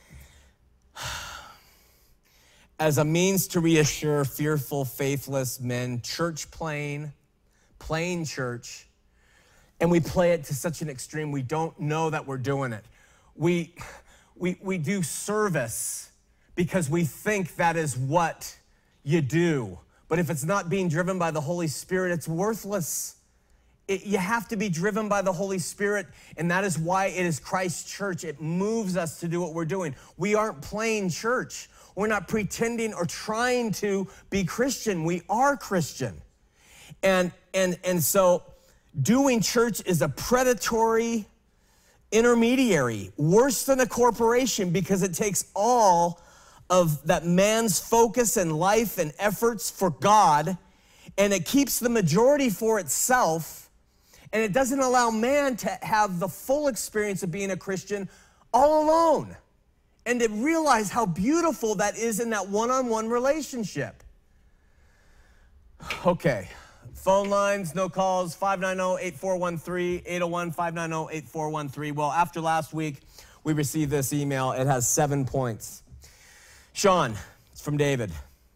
As a means to reassure fearful, faithless men, church playing, playing church, and we play it to such an extreme we don't know that we're doing it. We, we, we do service because we think that is what you do. But if it's not being driven by the Holy Spirit, it's worthless. It, you have to be driven by the Holy Spirit, and that is why it is Christ's church. It moves us to do what we're doing. We aren't playing church. We're not pretending or trying to be Christian. We are Christian. And, and, and so doing church is a predatory intermediary, worse than a corporation, because it takes all of that man's focus and life and efforts for God, and it keeps the majority for itself. And it doesn't allow man to have the full experience of being a Christian all alone and to realize how beautiful that is in that one-on-one relationship. Okay, Phone lines, no calls, five nine zero, eight four one three, eight oh one, five nine zero, eight four one three. Well, after last week, we received this email. It has seven points. Sean, it's from David.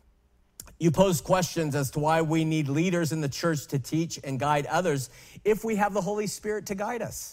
You posed questions as to why we need leaders in the church to teach and guide others if we have the Holy Spirit to guide us.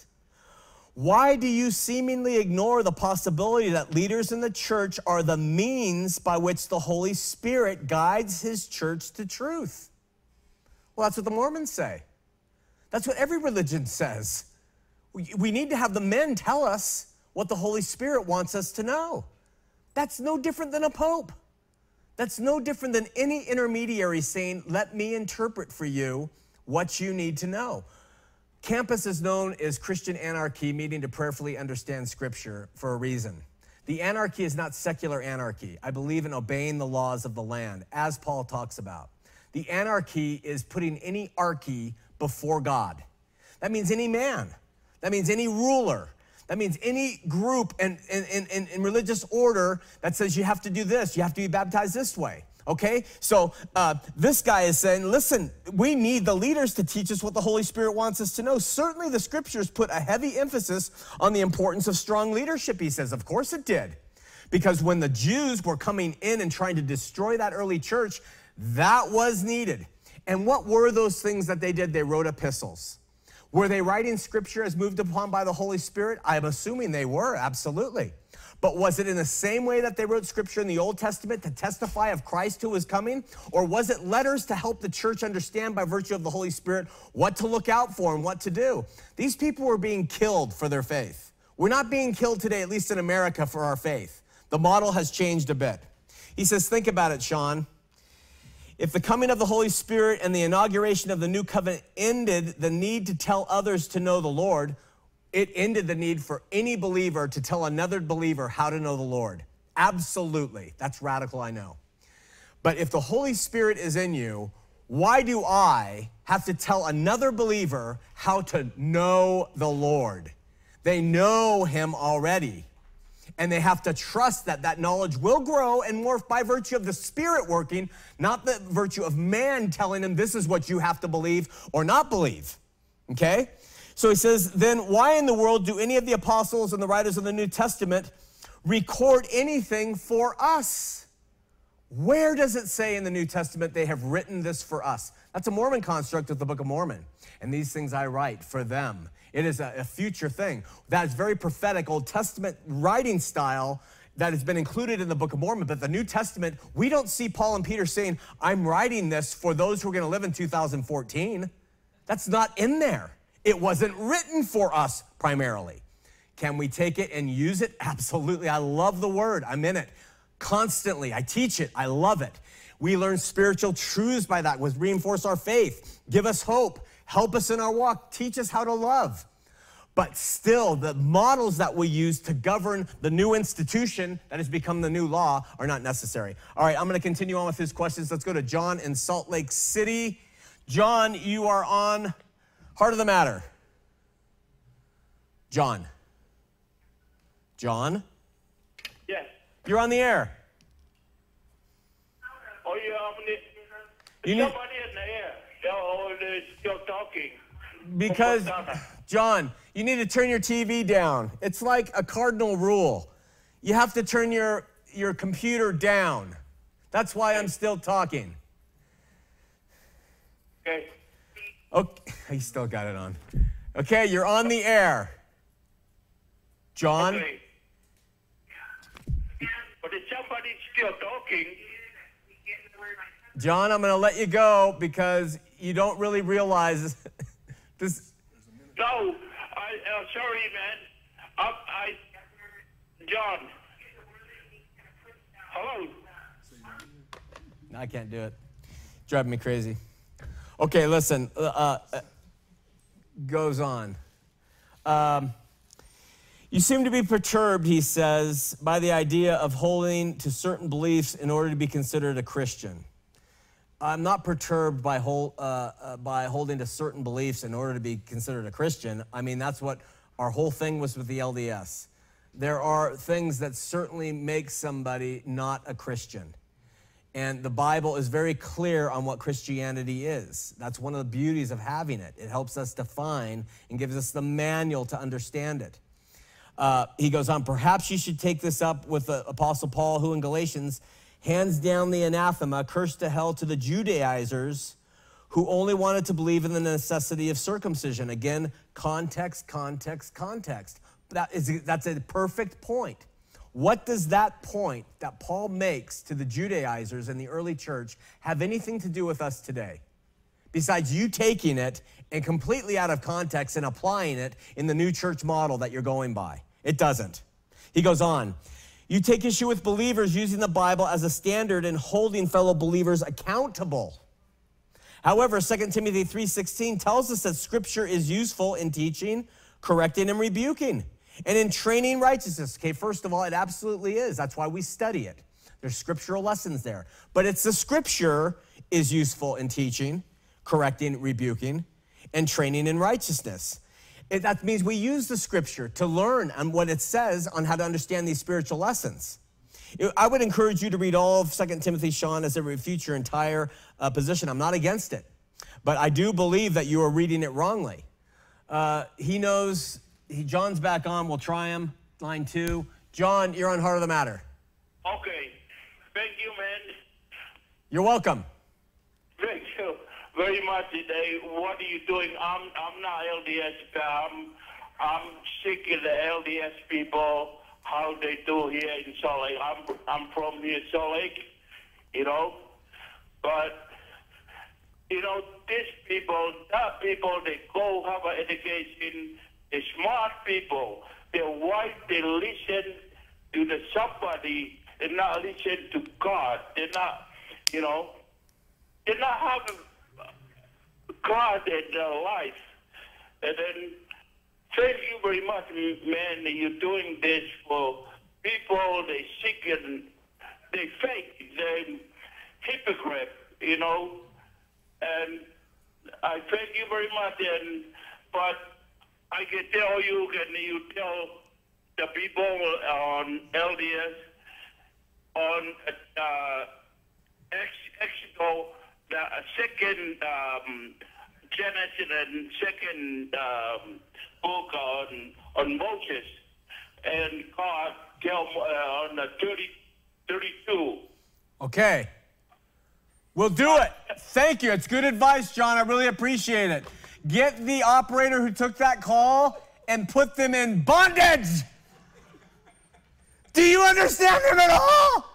Why do you seemingly ignore the possibility that leaders in the church are the means by which the Holy Spirit guides his church to truth? Well, that's what the Mormons say. That's what every religion says. We, we need to have the men tell us what the Holy Spirit wants us to know. That's no different than a pope. That's no different than any intermediary saying, let me interpret for you what you need to know. Campus is known as Christian anarchy, meaning to prayerfully understand Scripture for a reason. The anarchy is not secular anarchy. I believe in obeying the laws of the land, as Paul talks about. The anarchy is putting any archy before God. That means any man. That means any ruler. That means any group and in, in, in, in religious order that says you have to do this, you have to be baptized this way, okay? So uh, this guy is saying, listen, we need the leaders to teach us what the Holy Spirit wants us to know. Certainly the scriptures put a heavy emphasis on the importance of strong leadership, he says. Of course it did. Because when the Jews were coming in and trying to destroy that early church, that was needed. And what were those things that they did? They wrote epistles. Were they writing scripture as moved upon by the Holy Spirit? I'm assuming they were, absolutely. But was it in the same way that they wrote scripture in the Old Testament to testify of Christ who was coming? Or was it letters to help the church understand by virtue of the Holy Spirit what to look out for and what to do? These people were being killed for their faith. We're not being killed today, at least in America, for our faith. The model has changed a bit. He says, think about it, Sean. If the coming of the Holy Spirit and the inauguration of the new covenant ended the need to tell others to know the Lord, it ended the need for any believer to tell another believer how to know the Lord. Absolutely. That's radical, I know. But if the Holy Spirit is in you, why do I have to tell another believer how to know the Lord? They know him already. And they have to trust that that knowledge will grow and morph by virtue of the Spirit working, not the virtue of man telling them this is what you have to believe or not believe, okay? So he says, then why in the world do any of the apostles and the writers of the New Testament record anything for us? Where does it say in the New Testament they have written this for us? That's a Mormon construct of the Book of Mormon. And these things I write for them. It is a, a future thing. That is very prophetic Old Testament writing style that has been included in the Book of Mormon. But the New Testament, we don't see Paul and Peter saying, I'm writing this for those who are going to live in two thousand fourteen. That's not in there. It wasn't written for us primarily. Can we take it and use it? Absolutely. I love the word. I'm in it constantly. I teach it. I love it. We learn spiritual truths by that, which reinforce our faith, give us hope, help us in our walk, teach us how to love. But still, the models that we use to govern the new institution that has become the new law are not necessary. All right, I'm going to continue on with his questions. Let's go to John in Salt Lake City. John, you are on Heart of the Matter. John. John? Yes. You're on the air. Oh, you're on the... You need... Somebody in the air. Oh, they're still talking. Because, John, you need to turn your T V down. It's like a cardinal rule. You have to turn your, your computer down. That's why I'm still talking. Okay. Okay, he still got it on. Okay, you're on the air. John? Okay. But if somebody's still talking... John, I'm going to let you go because you don't really realize this. No, I, uh, sorry, man. I, I, John. Hello? No, I can't do it. Driving me crazy. Okay, listen. Uh, uh, goes on. Um, you seem to be perturbed, he says, by the idea of holding to certain beliefs in order to be considered a Christian. I'm not perturbed by, hold, uh, uh, by holding to certain beliefs in order to be considered a Christian. I mean, that's what our whole thing was with the L D S. There are things that certainly make somebody not a Christian. And the Bible is very clear on what Christianity is. That's one of the beauties of having it. It helps us define and gives us the manual to understand it. Uh, he goes on, perhaps you should take this up with the Apostle Paul, who in Galatians hands down the anathema, cursed to hell, to the Judaizers who only wanted to believe in the necessity of circumcision. Again, context, context, context. That is, that's a perfect point. What does that point that Paul makes to the Judaizers in the early church have anything to do with us today? Besides you taking it and completely out of context and applying it in the new church model that you're going by. It doesn't. He goes on, you take issue with believers using the Bible as a standard and holding fellow believers accountable. However, Second Timothy three sixteen tells us that Scripture is useful in teaching, correcting, and rebuking, and in training righteousness. Okay, first of all, it absolutely is. That's why we study it. There's scriptural lessons there. But it's the Scripture is useful in teaching, correcting, rebuking, and training in righteousness. It, that means we use the Scripture to learn on what it says on how to understand these spiritual lessons. I would encourage you to read all of Second Timothy, Sean, as it refutes your entire uh, position. I'm not against it, but I do believe that you are reading it wrongly. Uh, he knows, he, John's back on. We'll try him. Line two. John, you're on Heart of the Matter. Okay. Thank you, man. You're welcome. Thank you very much today. What are you doing? I'm I'm not L D S. I'm, I'm sick of the L D S people, how they do here in Salt Lake. I'm, I'm from here, Salt Lake, you know. But, you know, these people, that people, they go have an education, they're smart people. They're white, they listen to the somebody, they're not listening to God. They're not, you know, they're not having God in their life. And then, thank you very much, man, that you're doing this for people. They seek and they fake. They're hypocrite, you know. And I thank you very much. And but I can tell you, can you tell the people on L D S, on uh, Exodus, the second um, Genesis and second um, book on on Moses, and God tell uh, on the thirty, thirty-two. Okay. We'll do it. Thank you. It's good advice, John. I really appreciate it. Get the operator who took that call and put them in bondage. Do you understand him at all?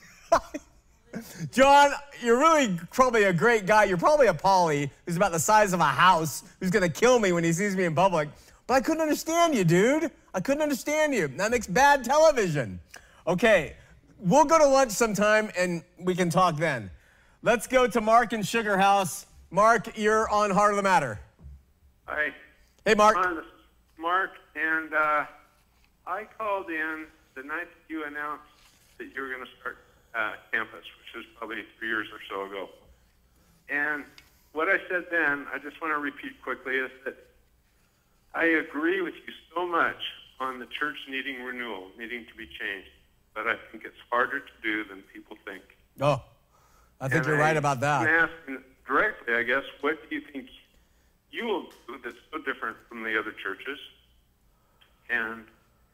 John, you're really probably a great guy. You're probably a Polly who's about the size of a house, who's going to kill me when he sees me in public. But I couldn't understand you, dude. I couldn't understand you. That makes bad television. Okay, we'll go to lunch sometime, and we can talk then. Let's go to Mark in Sugar House. Mark, you're on Heart of the Matter. Hi. Hey, Mark. Hi, this is Mark, and uh, I called in the night that you announced that you were going to start uh, campus, which was probably three years or so ago. And what I said then, I just want to repeat quickly, is that I agree with you so much on the church needing renewal, needing to be changed, but I think it's harder to do than people think. Oh, I think and you're I, right about that. I'm asking directly, I guess, what do you think you will do that's so different from the other churches? And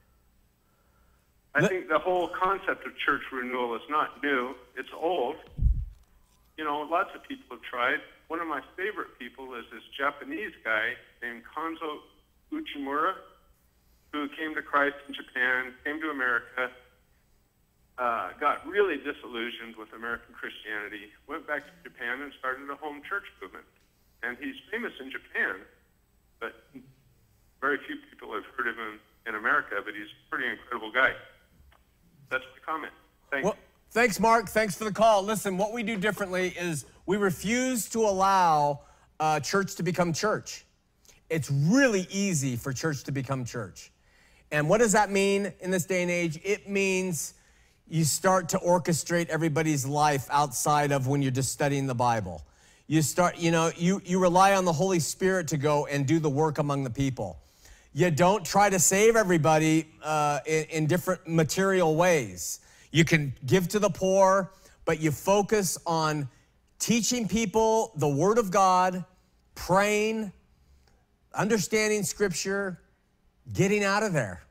I Let, think the whole concept of church renewal is not new. It's old. You know, lots of people have tried. One of my favorite people is this Japanese guy named Kanzo Uchimura, who came to Christ in Japan, came to America, uh, got really disillusioned with American Christianity, went back to Japan and started a home church movement. And he's famous in Japan, but very few people have heard of him in America, but he's a pretty incredible guy. That's my comment. Thanks. Well, thanks, Mark. Thanks for the call. Listen, what we do differently is we refuse to allow uh, church to become church. It's really easy for church to become church. And what does that mean in this day and age? It means you start to orchestrate everybody's life outside of when you're just studying the Bible. You start, you know, you, you rely on the Holy Spirit to go and do the work among the people. You don't try to save everybody uh, in, in different material ways. You can give to the poor, but you focus on teaching people the Word of God, praying, understanding Scripture, getting out of there.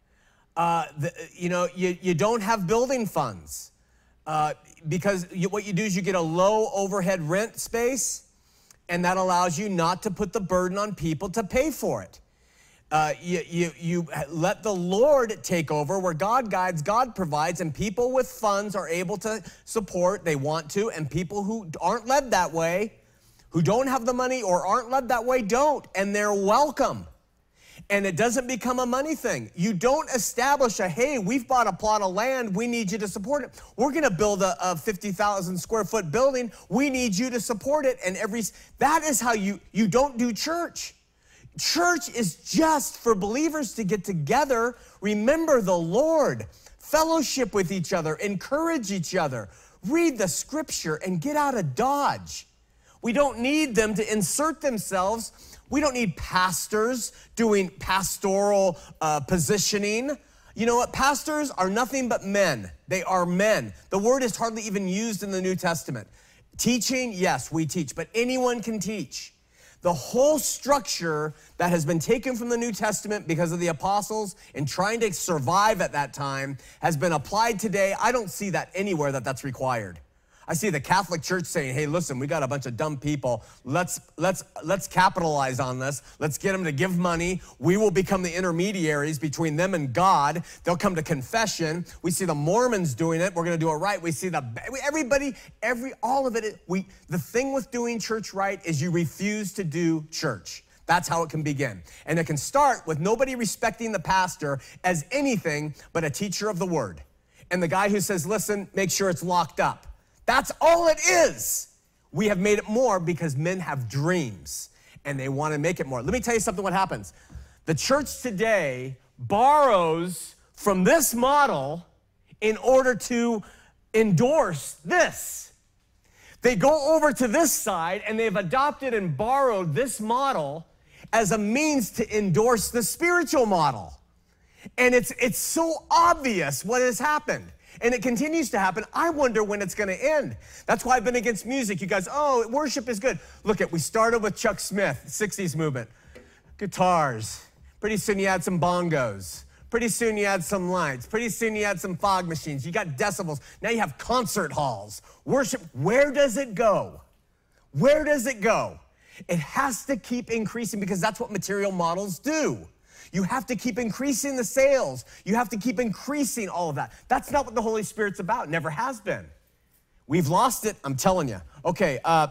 Uh, the, you know, you, you don't have building funds uh, because you, what you do is you get a low overhead rent space, and that allows you not to put the burden on people to pay for it. Uh, you, you, you let the Lord take over where God guides, God provides, and people with funds are able to support, they want to, and people who aren't led that way, who don't have the money or aren't led that way, don't, and they're welcome. And it doesn't become a money thing. You don't establish a, hey, we've bought a plot of land, we need you to support it. We're gonna build a, a fifty thousand square foot building, we need you to support it. And every, that is how you, you don't do church. Church is just for believers to get together, remember the Lord, fellowship with each other, encourage each other, read the Scripture, and get out of Dodge. We don't need them to insert themselves. We don't need pastors doing pastoral uh, positioning. You know what? Pastors are nothing but men. They are men. The word is hardly even used in the New Testament. Teaching, yes, we teach, but anyone can teach. The whole structure that has been taken from the New Testament because of the apostles and trying to survive at that time has been applied today. I don't see that anywhere that that's required. I see the Catholic Church saying, hey, listen, we got a bunch of dumb people. Let's, let's, let's capitalize on this. Let's get them to give money. We will become the intermediaries between them and God. They'll come to confession. We see the Mormons doing it. We're going to do it right. We see the, everybody, every, all of it. We, the thing with doing church right is you refuse to do church. That's how it can begin. And it can start with nobody respecting the pastor as anything but a teacher of the word. And the guy who says, listen, make sure it's locked up. That's all it is. We have made it more because men have dreams and they want to make it more. Let me tell you something what happens. The church today borrows from this model in order to endorse this. They go over to this side and they've adopted and borrowed this model as a means to endorse the spiritual model. And it's, it's so obvious what has happened. And it continues to happen. I wonder when it's going to end. That's why I've been against music. You guys, oh, worship is good. Look at, we started with Chuck Smith, sixties movement. Guitars. Pretty soon you had some bongos. Pretty soon you had some lights. Pretty soon you had some fog machines. You got decibels. Now you have concert halls. Worship, where does it go? Where does it go? It has to keep increasing because that's what material models do. You have to keep increasing the sales. You have to keep increasing all of that. That's not what the Holy Spirit's about. Never has been. We've lost it, I'm telling you. Okay, uh,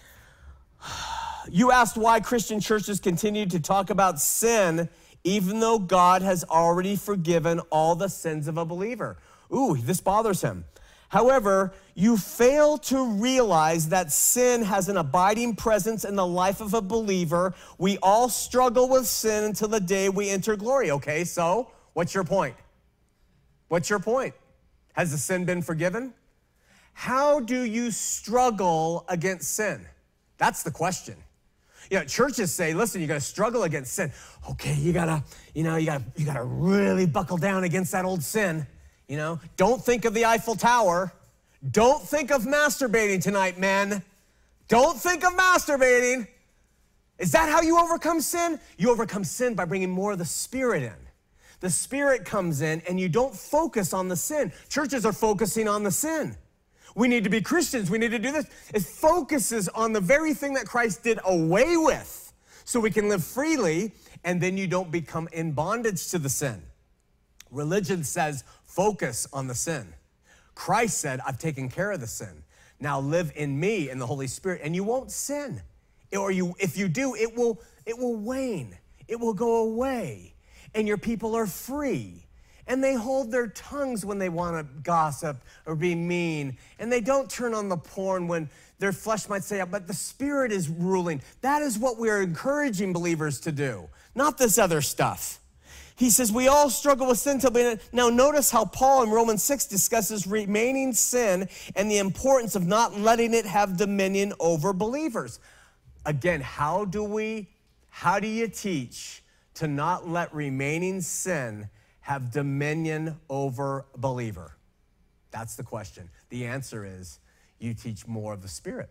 you asked why Christian churches continue to talk about sin even though God has already forgiven all the sins of a believer. Ooh, this bothers him. However, you fail to realize that sin has an abiding presence in the life of a believer. We all struggle with sin until the day we enter glory. Okay, so what's your point? What's your point? Has the sin been forgiven? How do you struggle against sin? That's the question. You know, churches say, listen, you got to struggle against sin. Okay, you got to, you know, you got to you got to really buckle down against that old sin. You know, don't think of the Eiffel Tower. Don't think of masturbating tonight, men. Don't think of masturbating. Is that how you overcome sin? You overcome sin by bringing more of the Spirit in. The Spirit comes in and you don't focus on the sin. Churches are focusing on the sin. We need to be Christians. We need to do this. It focuses on the very thing that Christ did away with so we can live freely, and then you don't become in bondage to the sin. Religion says, focus on the sin. Christ said, I've taken care of the sin. Now live in me, in the Holy Spirit, and you won't sin. Or you, if you do, it will, it will wane. It will go away. And your people are free. And they hold their tongues when they want to gossip or be mean. And they don't turn on the porn when their flesh might say, but the Spirit is ruling. That is what we're encouraging believers to do, not this other stuff. He says, we all struggle with sin till we... Now notice how Paul in Romans six discusses remaining sin and the importance of not letting it have dominion over believers. Again, how do we, how do you teach to not let remaining sin have dominion over a believer? That's the question. The answer is you teach more of the Spirit.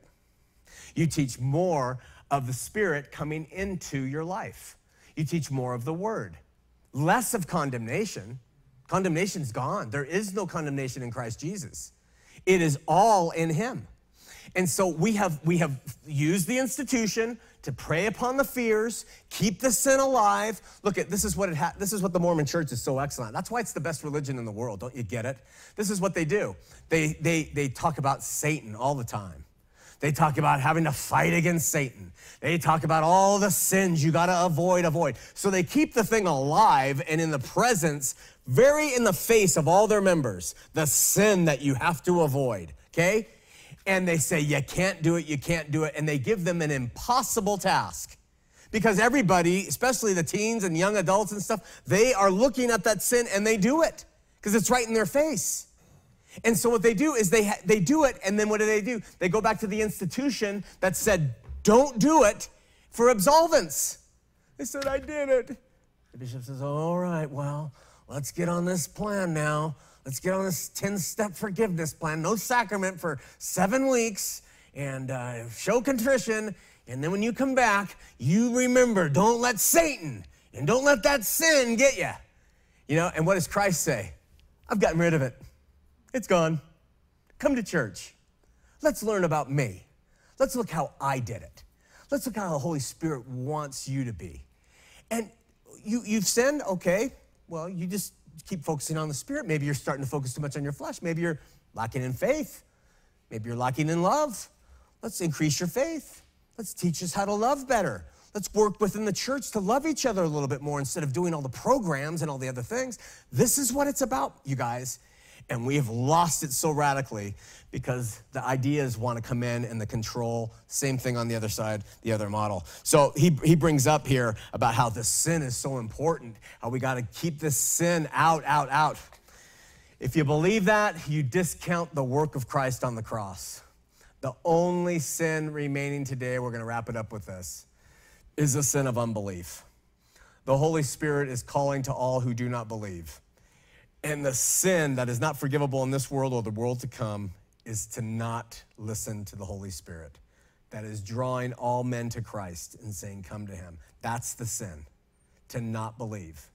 You teach more of the Spirit coming into your life. You teach more of the Word. Less of condemnation. Condemnation's gone. There is no condemnation in Christ Jesus. It is all in him. And so we have, we have used the institution to prey upon the fears, keep the sin alive. Look at, this is what it ha- this is what the Mormon church is so excellent. That's why it's the best religion in the world. Don't you get it? This is what they do. They, they, they talk about Satan all the time. They talk about having to fight against Satan. They talk about all the sins you got to avoid, avoid. So they keep the thing alive and in the presence, very in the face of all their members, the sin that you have to avoid, okay? And they say, you can't do it, you can't do it. And they give them an impossible task. Because everybody, especially the teens and young adults and stuff, they are looking at that sin and they do it because it's right in their face. And so what they do is they, ha- they do it, and then what do they do? They go back to the institution that said, don't do it, for absolvence. They said, I did it. The bishop says, all right, well, let's get on this plan now. Let's get on this ten-step forgiveness plan. No sacrament for seven weeks, and uh, show contrition. And then when you come back, you remember, don't let Satan and don't let that sin get you. You know, and what does Christ say? I've gotten rid of it. It's gone. Come to church. Let's learn about me. Let's look how I did it. Let's look how the Holy Spirit wants you to be. And you, you've sinned, okay. Well, you just keep focusing on the Spirit. Maybe you're starting to focus too much on your flesh. Maybe you're lacking in faith. Maybe you're lacking in love. Let's increase your faith. Let's teach us how to love better. Let's work within the church to love each other a little bit more instead of doing all the programs and all the other things. This is what it's about, you guys. And we have lost it so radically because the ideas want to come in and the control. Same thing on the other side, the other model. So he, he brings up here about how the sin is so important, how we got to keep this sin out, out, out. If you believe that, you discount the work of Christ on the cross. The only sin remaining today, we're going to wrap it up with this, is the sin of unbelief. The Holy Spirit is calling to all who do not believe. And the sin that is not forgivable in this world or the world to come is to not listen to the Holy Spirit. That is drawing all men to Christ and saying, come to him. That's the sin, to not believe.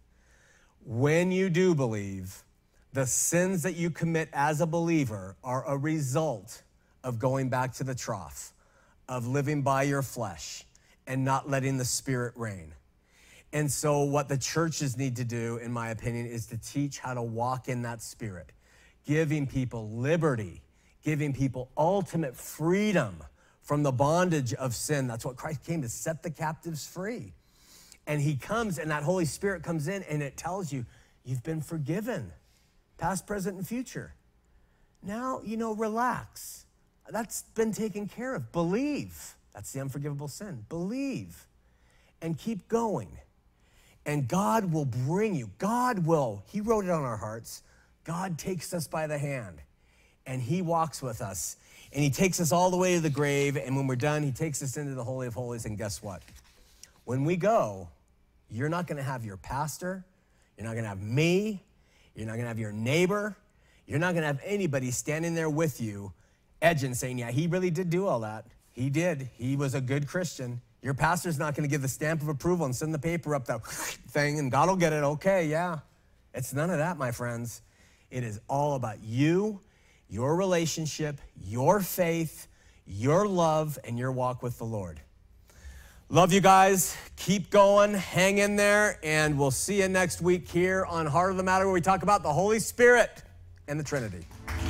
When you do believe, the sins that you commit as a believer are a result of going back to the trough, of living by your flesh and not letting the Spirit reign. And so what the churches need to do, in my opinion, is to teach how to walk in that Spirit, giving people liberty, giving people ultimate freedom from the bondage of sin. That's what Christ came to, set the captives free. And he comes, and that Holy Spirit comes in, and it tells you, you've been forgiven, past, present, and future. Now, you know, relax. That's been taken care of. Believe. That's the unforgivable sin. Believe and keep going. And God will bring you. God will. He wrote it on our hearts. God takes us by the hand, and he walks with us. And he takes us all the way to the grave, and when we're done, he takes us into the Holy of Holies, and guess what? When we go, you're not going to have your pastor. You're not going to have me. You're not going to have your neighbor. You're not going to have anybody standing there with you, edging, saying, yeah, he really did do all that. He did. He was a good Christian. Your pastor's not going to give the stamp of approval and send the paper up that thing, and God will get it. Okay, yeah. It's none of that, my friends. It is all about you, your relationship, your faith, your love, and your walk with the Lord. Love you guys. Keep going. Hang in there, and we'll see you next week here on Heart of the Matter, where we talk about the Holy Spirit and the Trinity.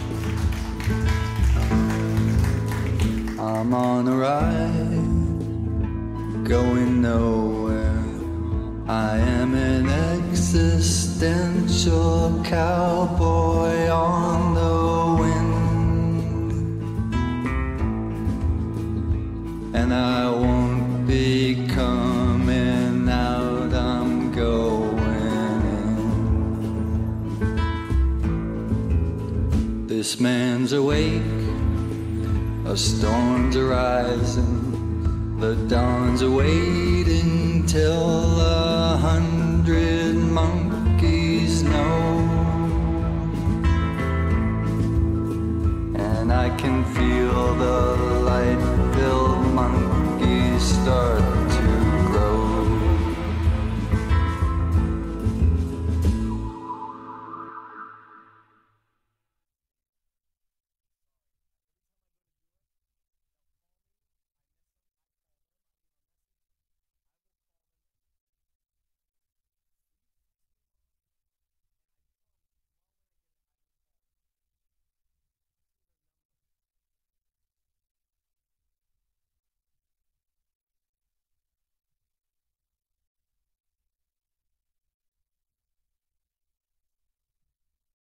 I'm on a ride, going nowhere. I am an existential cowboy on the wind, and I won't be coming out, I'm going in. This man's awake, a storm's arising. The dawn's awaiting till a hundred months